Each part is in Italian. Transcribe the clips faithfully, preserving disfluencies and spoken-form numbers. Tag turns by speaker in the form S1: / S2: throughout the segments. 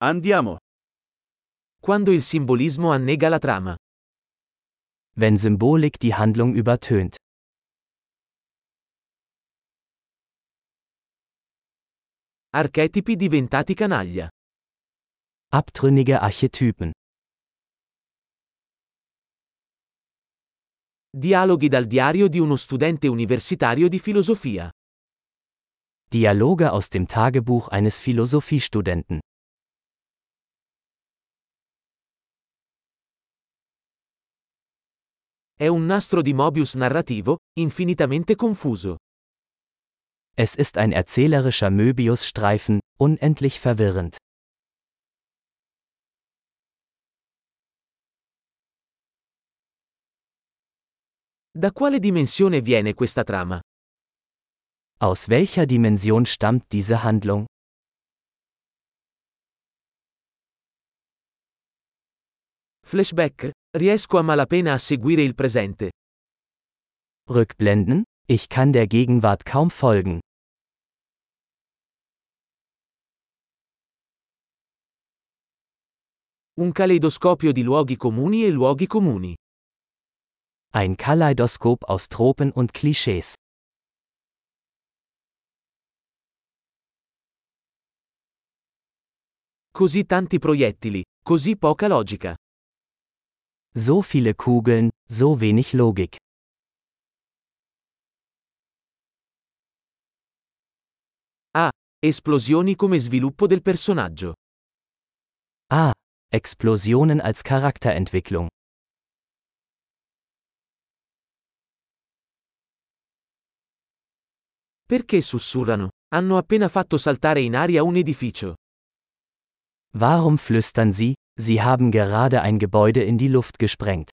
S1: Andiamo.
S2: Quando il simbolismo annega la trama.
S3: Wenn Symbolik die Handlung übertönt.
S2: Archetipi diventati canaglia.
S3: Abtrünnige Archetypen.
S2: Dialoghi dal diario di uno studente universitario di filosofia.
S3: Dialoge aus dem Tagebuch eines Philosophiestudenten.
S2: È un nastro di Mobius narrativo, infinitamente confuso.
S3: Es ist ein erzählerischer Möbiusstreifen, unendlich verwirrend.
S2: Da quale dimensione viene questa trama?
S3: Aus welcher Dimension stammt diese Handlung?
S2: Flashback? Riesco a malapena a seguire il presente.
S3: Rückblenden? Ich kann der Gegenwart kaum folgen.
S2: Un caleidoscopio di luoghi comuni e luoghi comuni.
S3: Ein Kaleidoskop aus Tropen und Klischees.
S2: Così tanti proiettili, così poca logica.
S3: So viele Kugeln, so wenig Logik.
S2: Ah, esplosioni come sviluppo del personaggio.
S3: Ah, Explosionen als Charakterentwicklung.
S2: Perché sussurrano? Hanno appena fatto saltare in aria un edificio.
S3: Warum flüstern Sie? Sie haben gerade ein Gebäude in die Luft gesprengt.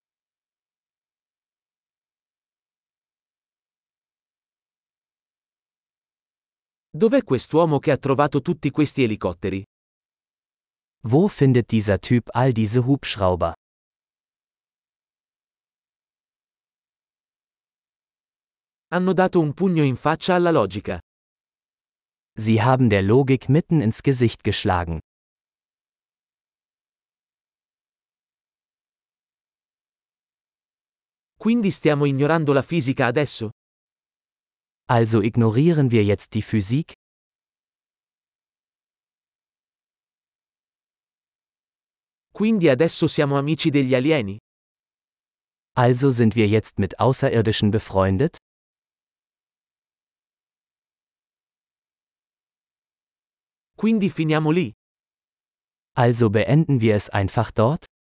S2: Dov'è quest'uomo che ha trovato tutti questi elicotteri?
S3: Wo findet dieser Typ all diese Hubschrauber?
S2: Hanno dato un pugno in faccia alla logica.
S3: Sie haben der Logik mitten ins Gesicht geschlagen.
S2: Quindi stiamo ignorando la fisica adesso?
S3: Also ignorieren wir jetzt die Physik?
S2: Quindi adesso siamo amici degli alieni?
S3: Also sind wir jetzt mit Außerirdischen befreundet?
S2: Quindi finiamo lì?
S3: Also beenden wir es einfach dort?